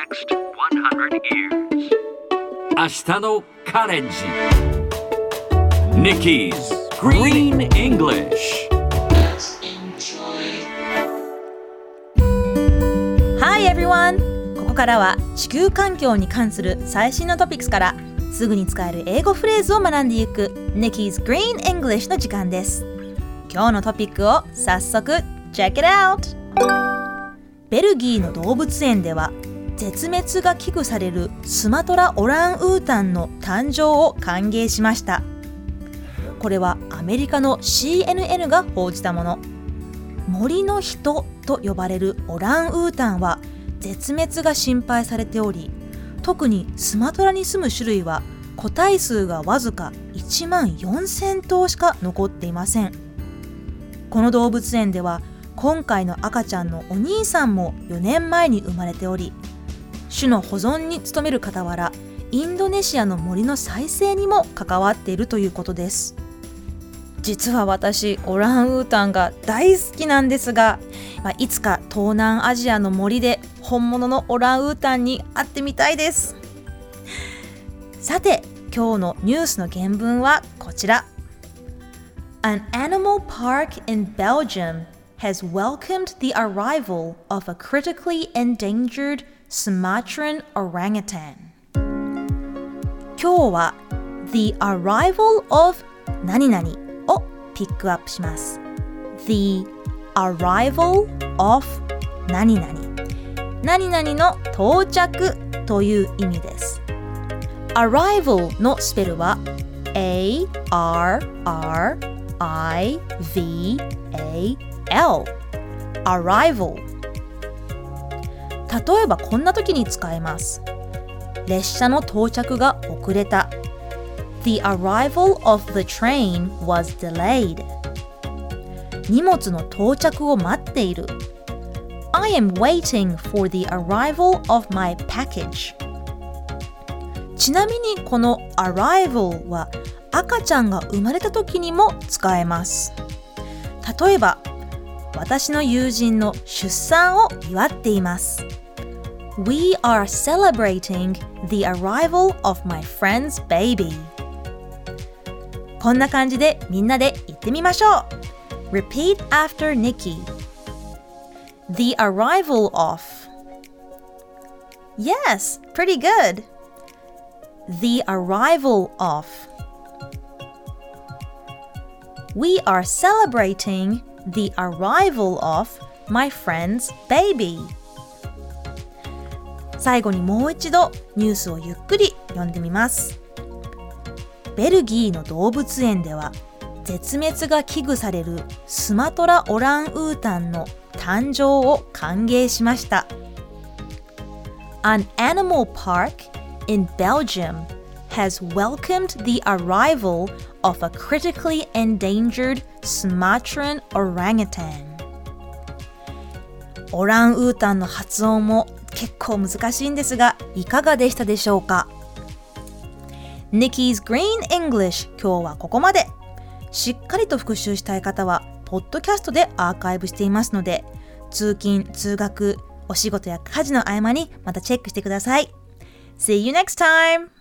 next 100 years. 明日のカレンジ Nikki's Green English。 Hi everyone! ここからは地球環境に関する最新のトピックスからすぐに使える英語フレーズを学んでいく Nikki's Green English の時間です。今日のトピックを早速 Check it out! ベルギーの動物園では絶滅が危惧されるスマトラオランウータンの誕生を歓迎しました。これはアメリカの CNN が報じたもの。森の人と呼ばれるオランウータンは絶滅が心配されており、特にスマトラに住む種類は個体数がわずか1万4000頭しか残っていません。この動物園では今回の赤ちゃんのお兄さんも4年前に生まれており、種の保存に努める傍らインドネシアの森の再生にも関わっているということです。実は私オランウータンが大好きなんですが、いつか東南アジアの森で本物のオランウータンに会ってみたいです。さて今日のニュースの原文はこちら。 An animal park in Belgium has welcomed the arrival of a critically endangered Sumatran orangutan. 今日は The arrival of 何々をピックアップします。 The arrival of 何々何々の到着という意味です。 Arrival のスペルは A-R-R-I-V-A-L Arrival。 例えばこんな時に使えます。列車の到着が遅れた。 The arrival of the train was delayed。 荷物の到着を待っている。 I am waiting for the arrival of my package。 ちなみにこの arrival は赤ちゃんが生まれた時にも使えます。例えば私の友人の出産を祝っています。 We are celebrating the arrival of my friend's baby。 こんな感じでみんなで言ってみましょう。 Repeat after Nikki. The arrival of. Yes, pretty good. The arrival of. We are celebrating the arrival of my friend's baby。 最後にもう一度ニュースをゆっくり読んでみます。ベルギーの動物園では絶滅が危惧されるスマトラオランウータンの誕生を歓迎しました。 An animal park in Belgium has welcomed the arrival of a critically endangered Sumatran orangutan。 オランウータンの発音も結構難しいんですが、いかがでしたでしょうか。 Nikki's Green English 今日はここまで。しっかりと復習したい方はポッドキャストでアーカイブしていますので、通勤・通学、お仕事や家事の合間にまたチェックしてください。See you next time!